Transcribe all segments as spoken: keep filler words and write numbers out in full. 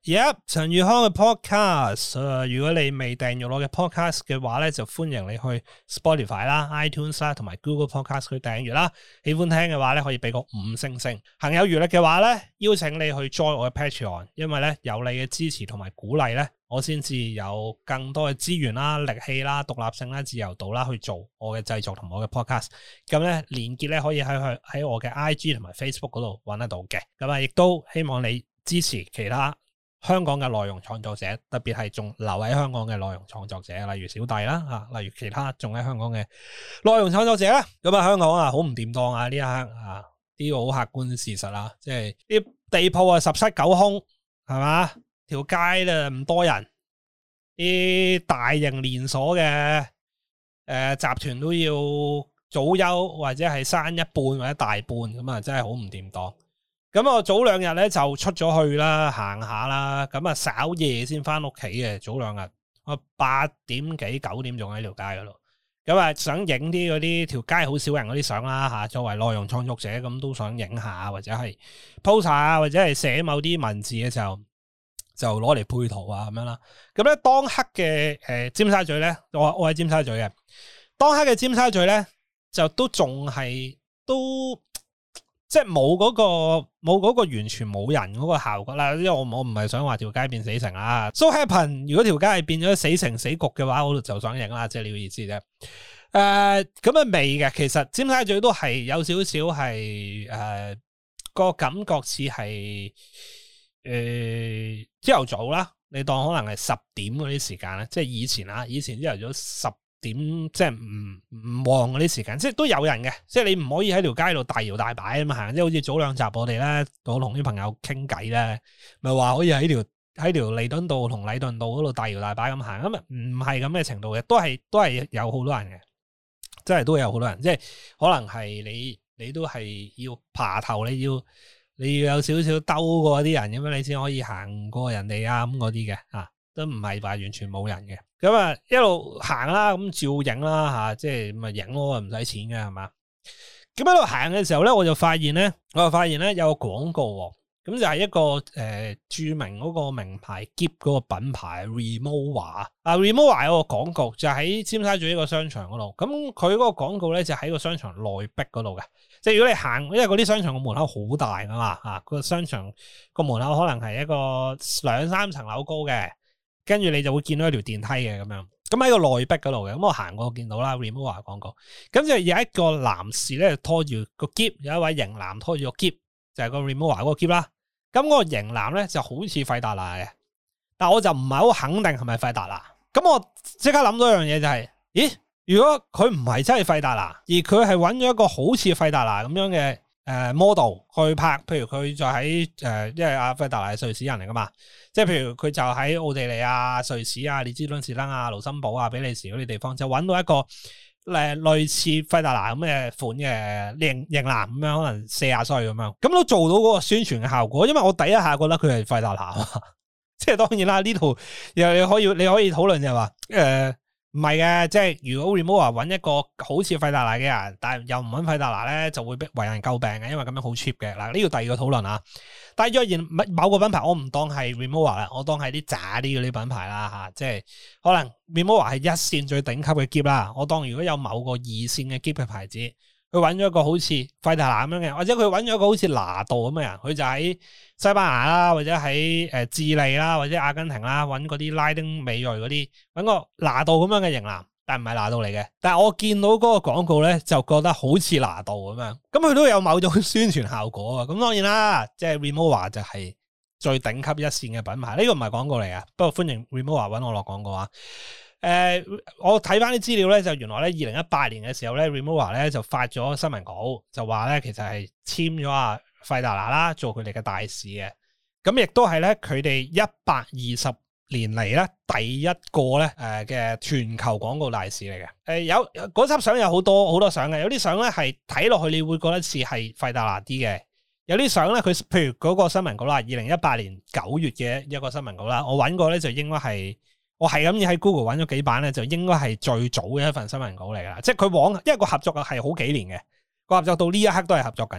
Yep， 陳宇康嘅 podcast，呃、如果你未訂閱我嘅 podcast 嘅話咧，就歡迎你去 Spotify 啦、iTunes 啦同埋 Google Podcast 去訂閱啦。喜歡聽嘅話咧，可以俾個五星星。行有餘力嘅話咧，邀請你去 join 我嘅 Patreon， 因為咧有你嘅支持同埋鼓勵咧，我先至有更多嘅資源啦、力氣啦、獨立性啦、自由度啦去做我嘅製作同我嘅 podcast。咁咧連結咧可以喺佢喺我嘅 I G 同埋 Facebook 嗰度揾得到嘅。咁啊，亦都希望你支持其他香港嘅內容創作者，特別係仲留喺香港嘅內容創作者，例如小弟啦，啊，例如其他仲喺香港嘅內容創作者啦。咁啊，香港啊好唔掂當啊呢一刻啊，呢個好客觀事實啦，即係啲地鋪啊十室九空，係嘛？條街咧唔多人，啲大型連鎖嘅誒、呃、集團都要早休或者係閂一半或者大半，咁啊真係好唔掂當。咁我早兩日咧就出咗去啦，行下啦，咁啊稍夜先翻屋企嘅。早兩日我八點幾九點仲喺條街嗰度，咁啊想影啲嗰啲條街好少人嗰啲相啦吓，作為內容創作者咁都想影下，或者係 post 下，或者係寫某啲文字嘅時候就攞嚟配圖啊咁樣啦。咁咧當刻嘅誒、呃、尖沙咀咧，我我喺尖沙咀嘅，當刻嘅尖沙咀咧就都仲係都。即係冇嗰個冇嗰個完全冇人嗰個效果啦，因為我我唔係想話條街變死城啊。So happen 如果條街係變咗死城死局嘅話，我就想影啦，即係呢個意思啫。誒咁啊未嘅，其實尖沙咀都係有少少係誒個感覺似係誒朝頭早啦，你當可能係十點嗰啲時間咧，即係以前啊，以前朝頭早十點即係唔唔旺嗰啲時間，即係都有人嘅，即係你唔可以喺條街度大搖大擺咁行，即係好似早兩集我哋咧，我同啲朋友傾偈咧，咪話可以喺條喺條彌敦道同禮頓道嗰度大搖大擺咁行，咁啊唔係咁嘅程度嘅，都係都係有好多人嘅，真係都有好多人，即係可能係你你都係要爬頭，你要你要有少少兜過啲人咁樣，你先可以行過人哋啊咁嗰啲嘅啊。都唔係話完全冇人嘅，咁啊一路行啦，咁照影啦吓，即係咪影咯，唔使錢嘅係嘛？咁一路行嘅時候咧，我就發現咧，我就發現咧有個廣告，咁就係一個誒、呃、著名嗰個名牌喼嗰個品牌 Rimowa 啊 Rimowa 有個廣告就喺尖沙咀一個商場嗰度，咁佢嗰個廣告咧就喺個商場內壁嗰度嘅，即係如果你行，因為嗰啲商場個門口好大噶嘛，吓、啊、個商場個門口可能係一個兩三層樓高嘅。跟住你就會見到一條電梯嘅咁樣，咁喺個內壁嗰度嘅，咁我行過見到啦 Rimowa 廣告，咁就有一個男士咧拖住個喼，有一位型男拖住個喼，就係、是、個 Rimowa 嗰個喼啦。咁嗰個型男咧就好似費達拿嘅，但我就唔係好肯定係咪費達拿。咁我即刻諗到一樣嘢就係、是，咦？如果佢唔係真係費達拿，而佢係揾咗一個好似費達拿咁樣嘅。誒、呃、model 去拍，譬如佢就喺誒、呃，因為阿費達拿係瑞士人嚟噶嘛，即係譬如佢就喺奧地利啊、瑞士啊、列支敦士登啊、盧森堡啊、比利時嗰啲地方，就揾到一個誒、呃、類似費達拿咁嘅款嘅型型男咁樣，可能四十歲咁樣，咁都做到嗰個宣傳嘅效果。因為我第一下覺得佢係費達拿嘛，即係當然啦，呢度又你可以你可以討論就係話誒。呃唔係嘅，即係如果 Rimowa 揾一個好似費達拿嘅人，但係又唔揾費達拿咧，就會被為人詬病嘅，因為咁樣好 cheap 嘅。嗱，呢個第二個討論啊。但係若然某個品牌，我唔當係 Rimowa 啦，我當係啲渣啲嗰啲品牌啦吓，即係可能 Rimowa 係一線最頂級嘅喼啦。我當如果有某個二線嘅喼嘅牌子，佢揾咗一個好似費達拿咁樣嘅，或者佢揾咗一個好似拿度咁嘅人，佢就喺西班牙啦，或者喺誒智利啦，或者阿根廷啦，揾嗰啲拉丁美裔嗰啲，揾個拿度咁樣嘅型男，但唔係拿度嚟嘅。但係我見到嗰個廣告咧，就覺得好似拿度咁樣，咁佢都有某種宣傳效果啊。咁當然啦，即係 Rimowa 就係最頂級一線嘅品牌，呢個唔係廣告嚟啊。不過歡迎 Rimowa 揾我落廣告啊。誒、呃，我睇翻啲資料咧，就原來咧二零一八年嘅時候咧 Rimowa 咧就發咗新聞稿，就話咧其實係簽咗阿費達拿啦做佢哋嘅大使嘅，咁亦都係咧佢哋一百二十年嚟咧第一個咧誒嘅全球廣告大使嚟嘅。誒、呃、有嗰輯相有好多好多相嘅，有啲相咧係睇落去你會覺得似係費達拿啲嘅，有啲相咧佢譬如嗰個新聞稿啦，二零一八年九月嘅一個新聞稿啦，我揾過咧就應該係。我係咁喺 Google 揾咗幾版咧，就應該係最早嘅一份新聞稿嚟噶啦。即係佢往，因為個合作係好幾年嘅，個合作到呢一刻都係合作緊嘅。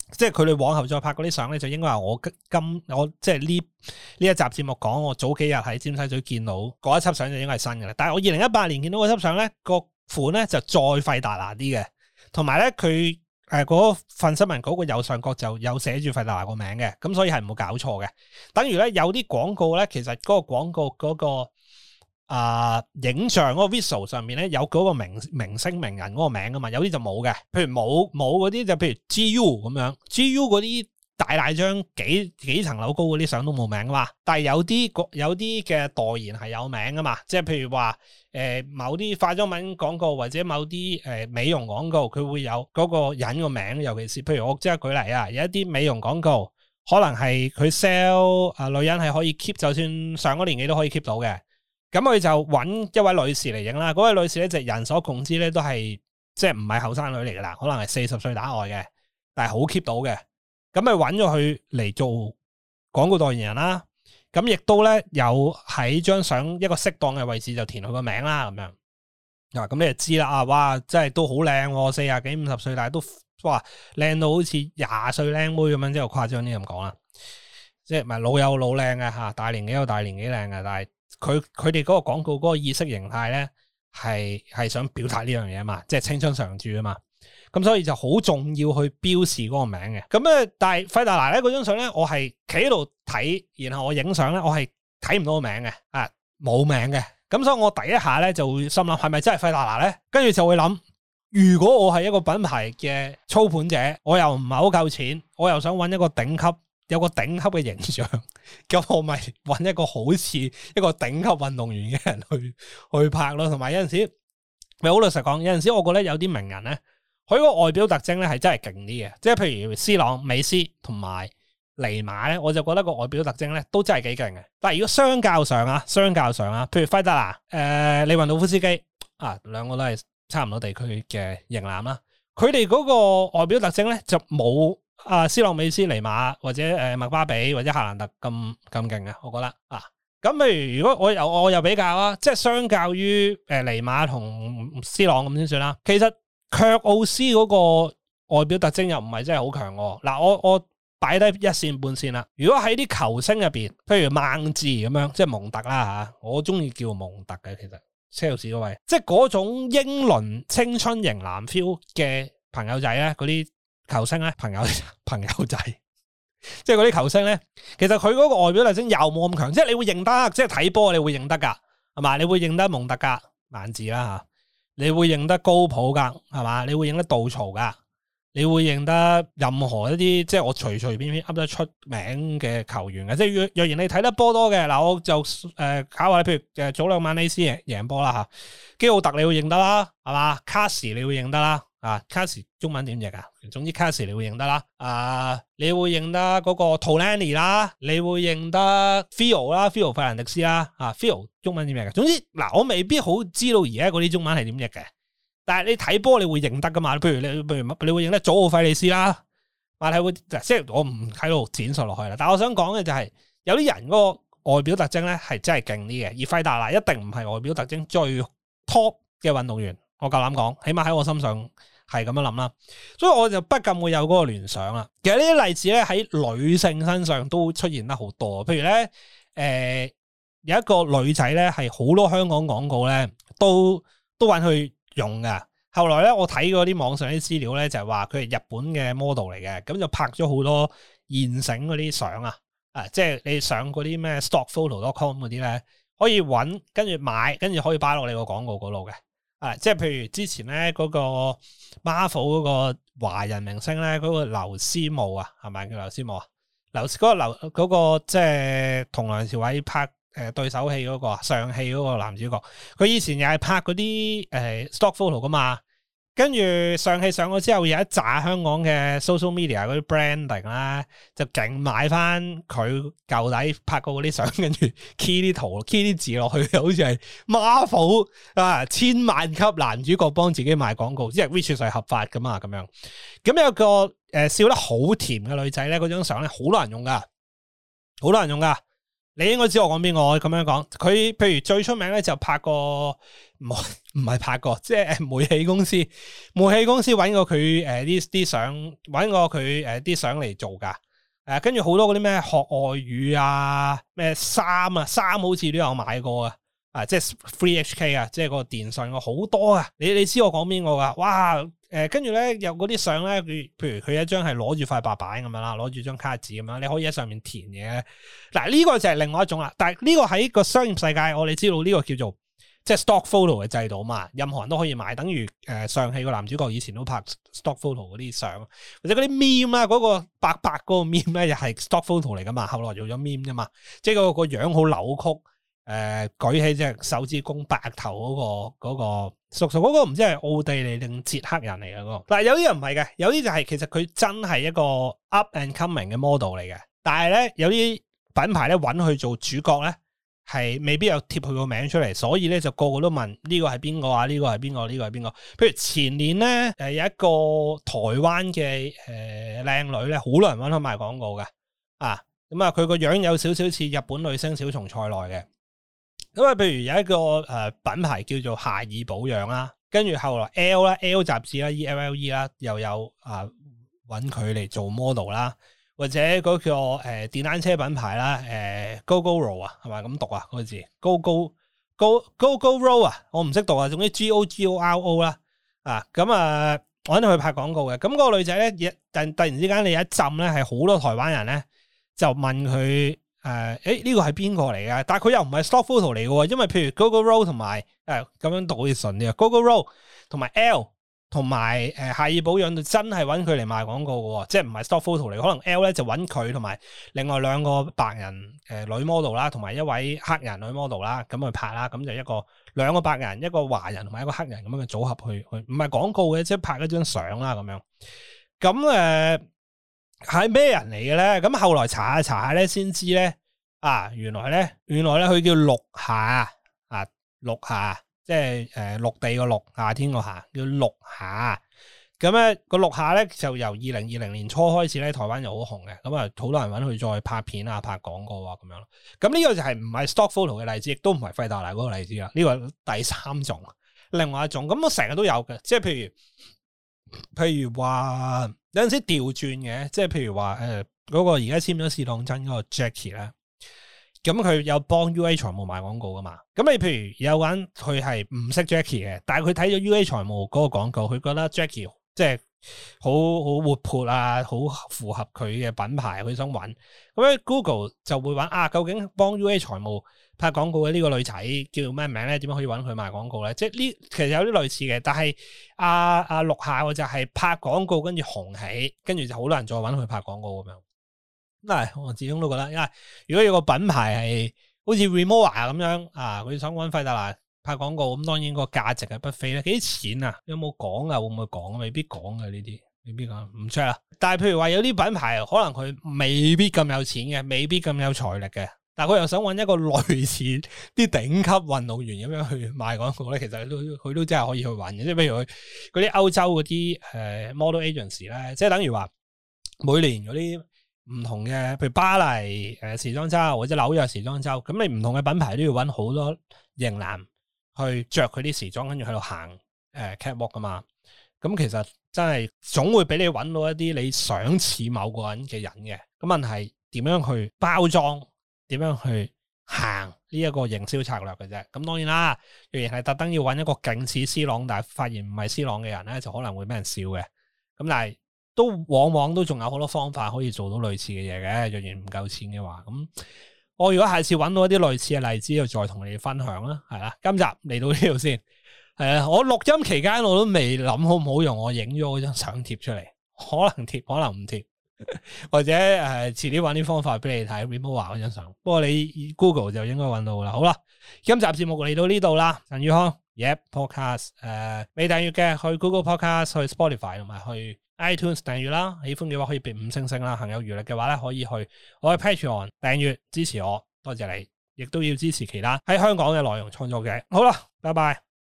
即係佢哋往後再拍嗰啲相咧，就應該係我今我即係呢呢一集節目講，我早幾日喺尖沙咀見到嗰一輯相就應該係新嘅啦。但係我二零一八年見到嗰輯相咧，個款咧就再費達拿啲嘅，同埋咧佢誒嗰份新聞稿個右上角就有寫住費達拿個名嘅，咁所以係冇搞錯嘅。等於咧有啲廣告咧，其實嗰個廣告嗰、嗰個。啊、呃！影像嗰個 visual 上面咧有嗰個明明星名人嗰個名噶嘛，有啲就冇嘅。譬如冇冇嗰啲就譬如 G U 咁樣 ，G U 嗰啲大大張幾幾層樓高嗰啲相都冇名噶嘛。但係有啲有啲嘅代言係有名噶嘛，即係譬如話誒、呃、某啲化妝品廣告或者某啲誒、呃、美容廣告，佢會有嗰個人個名。尤其是譬如我即係舉例啊，有一啲美容廣告可能係佢 sell 啊女人係可以 keep， 就算上咗年紀都可以 keep 到嘅。咁佢就揾一位女士嚟影啦，嗰位女士咧就人所共知咧都係即係唔係後生女嚟噶啦，可能係四十歲打外嘅，但係好 keep 到嘅。咁咪揾咗佢嚟做廣告代言人啦。咁亦都咧有喺張相一個適當嘅位置就填佢個名啦，咁樣。嗱，咁你就知啦，啊，哇，真係都好靚，四廿幾五十歲，但係都哇靚到好似廿歲靚妹咁樣，即係誇張啲咁講啦。即係唔係老有老靚嘅吓，大年紀有大年紀靚嘅，但係。佢佢哋嗰個廣告嗰個意識形態咧，係係想表達呢樣嘢嘛，即係青春常駐啊嘛，咁所以就好重要去標示嗰個名嘅。咁咧，但係費達拿咧嗰張相咧，我係企喺度睇，然後我影相咧，我係睇唔到個名嘅，啊冇名嘅。咁所以我第一下咧就會心諗，係咪真係費達拿咧？跟住就會諗，如果我係一個品牌嘅操盤者，我又唔係好夠錢，我又想揾一個頂級。有個頂級嘅形象，咁我咪揾一個好似一個頂級運動員嘅人去去拍咯。同埋有陣時，咪好老實講，有陣時我覺得有啲名人咧，佢個外表特徵咧係真係勁啲嘅。即係譬如 C 朗、美斯同埋尼馬咧，我就覺得個外表特徵咧都真係幾勁嘅。但係如果相較上啊，相較上啊，譬如費達拿、誒、呃、利雲道夫斯基啊，兩個都係差唔多地區嘅型男啦，佢哋嗰個外表特徵咧就冇。啊，斯朗美斯尼馬或者誒麥巴比或者夏蘭特咁咁勁嘅，我覺得啊，咁譬如如果我又我又比較啊，即係相較於誒尼馬同斯朗咁先算啦。其實卻奧斯嗰個外表特徵又唔係真係好強喎。嗱，我我擺低一線半線啦。如果喺啲球星入邊，譬如孟治咁樣，即係蒙特啦吓，我中意叫蒙特嘅，其實車路士嗰位，即係嗰種英倫青春型男 feel 嘅朋友仔咧，嗰啲。球星咧，朋友朋友仔，即係嗰啲球星咧，其實佢嗰個外表特徵又冇咁強，即係你會認得，即係睇波你會認得噶，係嘛？你會認得蒙特噶，曼治啦吓，你會認得高普噶，係嘛？你會認得杜曹噶，你會認得任何一啲即係我隨隨便便噏得出名嘅球員嘅，即係若若然你睇得波多嘅，嗱我就誒、呃、考下，譬如誒早兩晚呢斯贏贏波啦吓，基奧特你會認得啦，係嘛？卡士你會認得啦。啊，卡士中文點譯啊？總之卡士你會認得啦，啊，你會認得嗰個 Tolani 啦，你會認得 Phil 啦 ，Phil 費蘭迪斯啦，啊 Phil 中文點譯嘅？總之嗱，我未必好知道而家嗰啲中文係點譯嘅，但係你睇波你會認得噶嘛？譬如你譬如你會認得祖奧費利斯啦，或係會即係我唔喺度展述落去啦。但係我想講嘅就係、是、有啲人嗰個外表特徵咧係真係勁啲嘅，而費達拿一定唔係外表特徵最 top 嘅運動員，我夠膽講，起碼喺我心上。係咁樣諗啦，所以我就不禁會有嗰個聯想啦。其實呢啲例子咧喺女性身上都出現得好多，譬如咧，誒、呃、有一個女仔咧係好多香港廣告咧都都揾佢用㗎。後來咧我睇過啲網上啲資料咧就係話佢係日本嘅 model 嚟嘅，咁就拍咗好多現成嗰啲相啊，啊即係你上嗰啲咩 stock photo dot com 嗰啲咧可以揾跟住買，跟住可以擺落你個廣告嗰度嘅。啊，即係譬如之前咧嗰個 Marvel 嗰個華人明星咧，嗰個劉思慕啊，係咪叫劉思慕啊？劉嗰個劉嗰個即係同梁朝偉拍誒對手戲嗰個上戲嗰個男主角，佢以前又係拍嗰啲誒 stock photo 噶嘛。跟住上戲上咗之後，有一紮香港嘅 social media 嗰啲 branding 啦，就勁買翻佢舊底拍過嗰啲相，跟住 key 啲圖 key 啲字落去，好似係 Marvel 啊千萬級男主角幫自己賣廣告，即係 which 係合法噶嘛咁樣。咁有個誒、呃、笑得好甜嘅女仔咧，嗰張相咧好多人用噶，好多人用噶。 你應該知我講邊個，我咁樣講，佢譬如最出名咧就拍過，唔唔係拍過，即係煤氣公司，煤氣公司揾過佢誒啲啲相，揾過佢誒啲相嚟做噶，誒跟住好多嗰啲咩學外語啊，咩衫啊，衫好似都有買過啊，啊即係 Free H K 啊，即係個電信我好多啊，你你知我講邊個噶？哇！誒，跟住咧有嗰啲相咧，譬如佢一張係攞住塊白板咁樣啦，攞住張卡紙咁樣，你可以喺上面填嘢。嗱，呢個就係另外一種啦。但係呢個喺個商業世界，我哋知道呢個叫做即係 stock photo 嘅制度嘛，任何人都可以買，等於誒上戲個男主角以前都拍 stock photo 嗰啲相，或者嗰啲 meme 啊，嗰個白白嗰個 meme 咧，又係 stock photo 嚟噶嘛，後來做咗 meme 啫嘛，即係個個樣好扭曲。誒、呃，舉起隻手指公白頭嗰、嗰個、嗰個叔叔嗰個唔知係奧地利定捷克人嚟嘅嗰個，但係有啲人唔係嘅，有啲就係、是、其實佢真係一個 up and coming 嘅 model 嚟嘅，但係咧有啲品牌咧揾佢做主角咧係未必有貼佢個名出嚟，所以咧就個個都問呢個係邊個啊？呢個係邊個？呢個係邊個？譬如前年咧誒有一個台灣嘅誒靚女咧，好多人揾佢賣廣告嘅啊，咁啊佢個樣有少少似日本女星小松菜奈嘅。咁啊，譬如有一個誒、呃、品牌叫做夏爾保養啦，跟住後來 L 啦 ，L 雜誌啦 ，E L L E 啦，又有啊揾佢嚟做 model 啦，或者嗰個誒、呃、電單車品牌啦，誒、呃、Gogoro 啊，係咪咁讀啊？嗰、那個字 Go Go Go Go Go Roll 啊，我唔識讀啊，總之 G O G O R O 啦，啊咁啊揾佢拍廣告嘅，咁、那、嗰個女仔咧，突突然之間你有一浸咧，係好多台灣人咧就問佢。誒，誒、呃，呢、這個係邊個嚟嘅？但係佢又唔係 stock photo 嚟嘅，因為譬如 Gogoro 同埋誒咁樣讀好似順啲啊 Gogoro 同埋 L 同埋誒夏爾保養就真係揾佢嚟賣廣告嘅，即係唔係 stock photo 嚟。可能 L 咧就揾佢同埋另外兩個白人誒、呃、女 model 啦，同埋一位黑人女 model 啦，咁去拍啦，咁就一個兩個白人，一個華人同埋一個黑人咁樣嘅組合去去，唔係廣告嘅，即係拍一張相啦咁樣。咁誒係咩人嚟嘅咧？咁後來查下查下咧，先知咧啊，原來咧，原來咧佢叫陸夏啊，陸夏即係誒陸地個陸，夏天個夏，叫陸夏。咁咧個陸夏咧就由二零二零年初開始咧，台灣就好紅嘅。咁啊，好多人揾佢再拍片啊、拍廣告啊咁樣咯。咁呢個就係唔係 stock photo 嘅例子，亦都唔係費達拿嗰個例子啦。呢個第三種，另外一種。咁我成日都有嘅，即係譬如譬如話有陣時調轉嘅，即係譬如話誒嗰個而家簽咗試當真嗰個 Jackie 咧。咁佢有幫 U A 財務賣廣告噶嘛？咁你譬如有個人佢係唔識 Jackie 嘅，但係佢睇咗 U A 財務嗰個廣告，佢覺得 Jackie 即係好好活潑啊，好符合佢嘅品牌，佢想揾。咁咧 Google 就會揾啊，究竟幫 U A 財務拍廣告嘅呢個女仔叫咩名咧？點樣可以揾佢賣廣告咧？即係呢，其實有啲類似嘅，但係阿阿陸夏就係拍廣告跟住紅起，跟住就好多人再揾佢拍廣告咁樣。嗱，我始終都覺得，因為如果有個品牌係好似 Rimowa 咁樣啊，佢想揾費達拿拍廣告，咁當然個價值係不菲咧。幾錢啊？有冇講啊？會唔會講？未必講嘅呢啲，未必講，唔出啦。但係譬如話有啲品牌可能佢未必咁有錢嘅，未必咁有財力嘅，但係佢又想揾一個類似啲頂級運動員咁樣去賣廣告咧，其實佢都佢都真係可以去揾嘅。即係譬如佢嗰啲歐洲嗰啲誒 model agency 咧，即係等於話每年嗰啲。唔同嘅，譬如巴黎誒、呃、時裝周或者紐約時裝周，咁你唔同嘅品牌都要揾好多型男去着佢啲時裝，跟住喺度行誒 catwalk 噶嘛。咁其實真係總會俾你揾到一啲你想似某個人嘅人嘅。咁問題點樣去包裝，點樣去行呢一個營銷策略嘅啫。咁當然啦，若然係特登要揾一個勁似 C 朗，但係發現唔係 C 朗嘅人咧，就可能會俾人笑嘅。咁但係。都往往都仲有好多方法可以做到類似嘅嘢嘅，若然唔夠錢嘅話，咁我如果下次揾到一啲類似嘅例子，就再同你哋分享啦，係啦。今集嚟到呢度先，係啊，我錄音期間我都未諗好唔好用我影咗嗰張相貼出嚟，可能貼，可能唔貼，或者誒遲啲揾啲方法俾你睇 Rimowa 嗰張相。不過你 Google 就應該揾到啦。好啦，今集節目嚟到呢度啦，陳宇康 Yep Podcast 誒、呃、未訂閱嘅去 Google Podcast 去 Spotify 同埋去。iTunes 訂閱啦，喜歡嘅話可以俾五星星啦，行有餘力嘅話咧可以去我嘅 Patreon 訂閱支持我，多謝你，亦都要支持其他喺香港嘅內容創作者。好啦，拜拜。